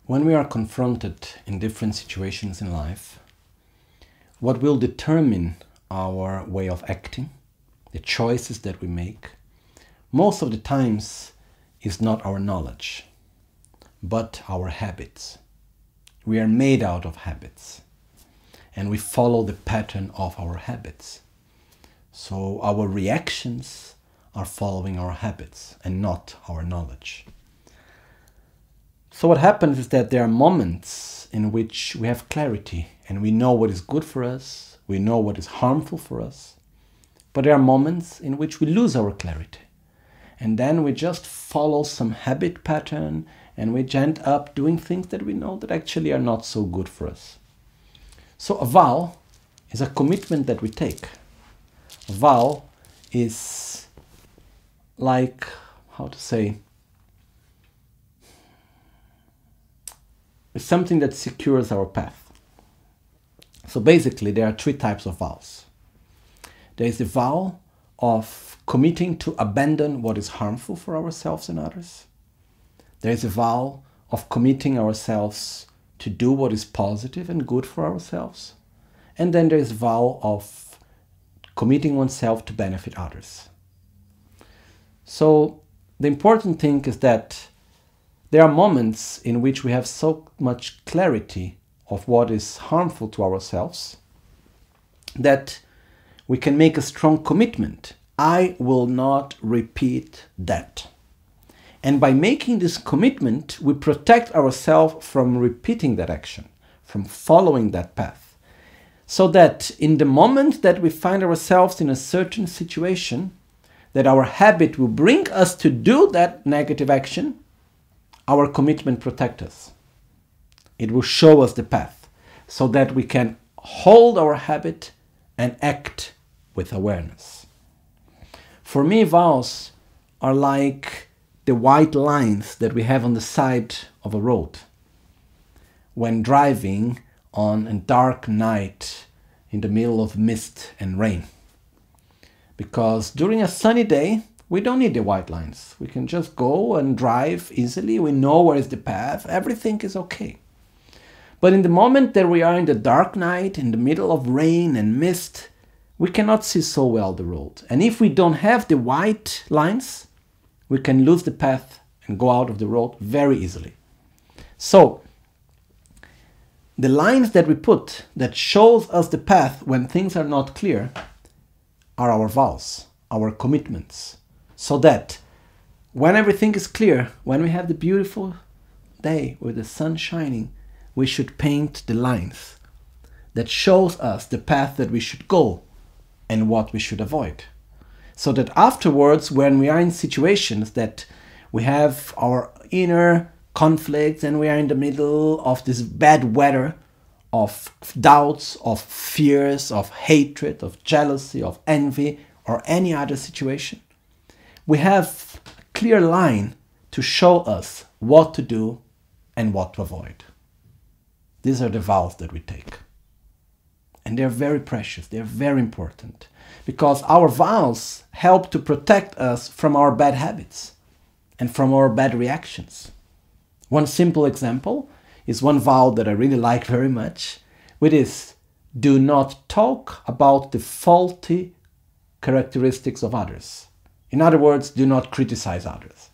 When we are confronted in different situations in life, what will determine our way of acting, the choices that we make, most of the times is not our knowledge, but our habits. We are made out of habits, and we follow the pattern of our habits. So our reactions are following our habits and not our knowledge. So what happens is that there are moments in which we have clarity and we know what is good for us, we know what is harmful for us, but there are moments in which we lose our clarity. And then we just follow some habit pattern and we end up doing things that we know that actually are not so good for us. So a vow is a commitment that we take. A vow is like, it's something that secures our path. So basically there are three types of vows. There is the vow of committing to abandon what is harmful for ourselves and others. There is a vow of committing ourselves to do what is positive and good for ourselves. And then there is a vow of committing oneself to benefit others. So the important thing is that there are moments in which we have so much clarity of what is harmful to ourselves that we can make a strong commitment. I will not repeat that. And by making this commitment, we protect ourselves from repeating that action, from following that path. So that in the moment that we find ourselves in a certain situation, that our habit will bring us to do that negative action, our commitment protects us. It will show us the path so that we can hold our habit and act with awareness. For me, vows are like the white lines that we have on the side of a road when driving on a dark night in the middle of mist and rain. Because during a sunny day, we don't need the white lines. We can just go and drive easily. We know where is the path. Everything is okay. But in the moment that we are in the dark night, in the middle of rain and mist, we cannot see so well the road. And if we don't have the white lines, we can lose the path and go out of the road very easily. So, the lines that we put that shows us the path when things are not clear are our vows, our commitments. So that when everything is clear, when we have the beautiful day with the sun shining, we should paint the lines that shows us the path that we should go and what we should avoid. So that afterwards, when we are in situations that we have our inner conflicts and we are in the middle of this bad weather of doubts, of fears, of hatred, of jealousy, of envy, or any other situation, we have a clear line to show us what to do and what to avoid. These are the vows that we take. And they're very precious, they're very important. Because our vows help to protect us from our bad habits and from our bad reactions. One simple example is one vow that I really like very much, which is do not talk about the faulty characteristics of others. In other words, do not criticize others.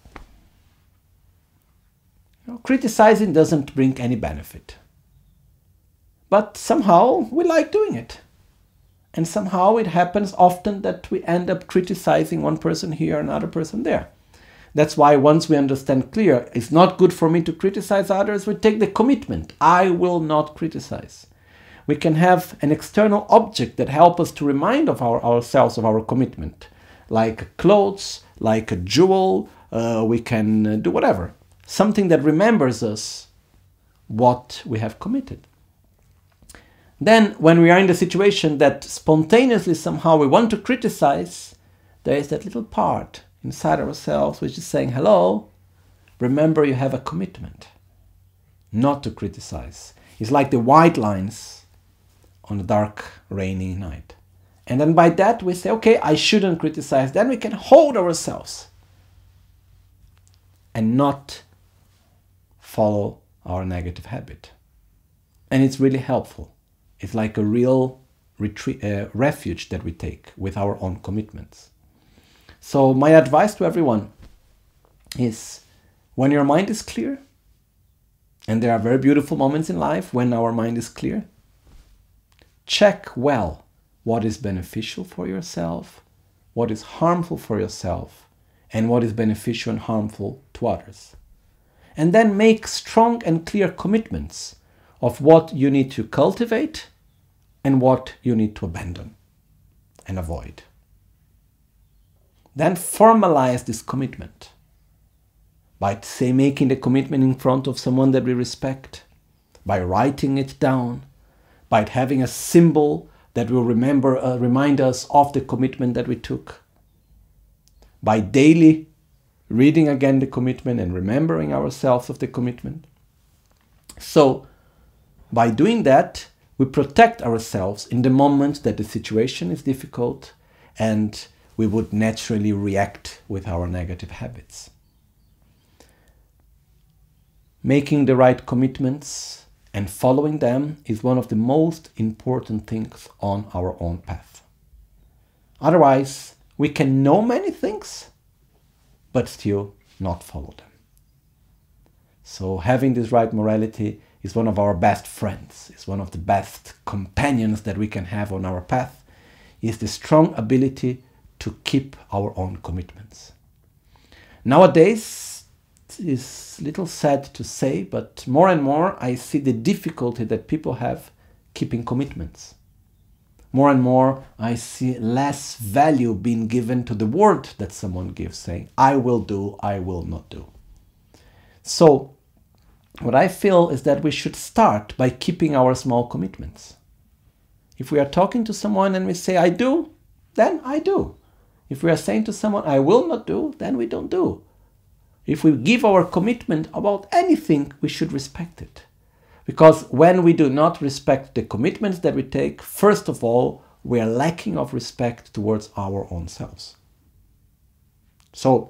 Criticizing doesn't bring any benefit. But somehow we like doing it. And somehow it happens often that we end up criticizing one person here, another person there. That's why once we understand clear, it's not good for me to criticize others, we take the commitment. I will not criticize. We can have an external object that helps us to remind ourselves of our commitment. Like clothes, like a jewel, we can do whatever. Something that remembers us what we have committed. Then, when we are in the situation that spontaneously somehow we want to criticize, there is that little part inside ourselves which is saying, hello, remember you have a commitment not to criticize. It's like the white lines on a dark, rainy night. And then by that we say, okay, I shouldn't criticize. Then we can hold ourselves and not follow our negative habit. And it's really helpful. It's like a real refuge that we take with our own commitments. So my advice to everyone is, when your mind is clear, and there are very beautiful moments in life when our mind is clear, check well what is beneficial for yourself, what is harmful for yourself, and what is beneficial and harmful to others. And then make strong and clear commitments of what you need to cultivate and what you need to abandon and avoid. Then formalize this commitment by, say, making the commitment in front of someone that we respect, by writing it down, by having a symbol that will remind us of the commitment that we took, by daily reading again the commitment and remembering ourselves of the commitment. So, by doing that, we protect ourselves in the moment that the situation is difficult and we would naturally react with our negative habits. Making the right commitments and following them is one of the most important things on our own path. Otherwise, we can know many things, but still not follow them. So having this right morality is one of our best friends, is one of the best companions that we can have on our path, is the strong ability to keep our own commitments. Nowadays, it's a little sad to say, but more and more I see the difficulty that people have keeping commitments. More and more I see less value being given to the word that someone gives, saying, I will do, I will not do. So, what I feel is that we should start by keeping our small commitments. If we are talking to someone and we say, I do, then I do. If we are saying to someone, I will not do, then we don't do. If we give our commitment about anything, we should respect it. Because when we do not respect the commitments that we take, first of all, we are lacking of respect towards our own selves. So,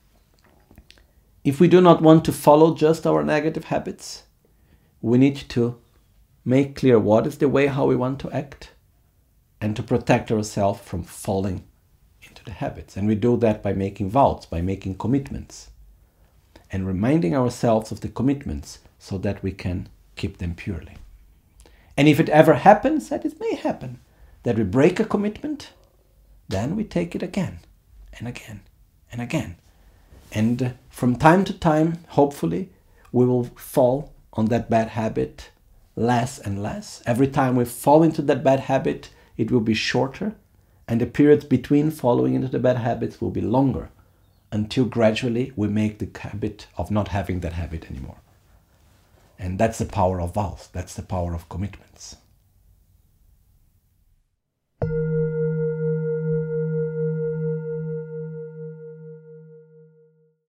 if we do not want to follow just our negative habits, we need to make clear what is the way how we want to act and to protect ourselves from falling into the habits. And we do that by making vows, by making commitments, and reminding ourselves of the commitments so that we can keep them purely. And if it ever happens, that it may happen, that we break a commitment, then we take it again and again and again. And from time to time, hopefully, we will fall on that bad habit less and less. Every time we fall into that bad habit, it will be shorter, and the periods between falling into the bad habits will be longer, until gradually we make the habit of not having that habit anymore. And that's the power of vows. That's the power of commitments.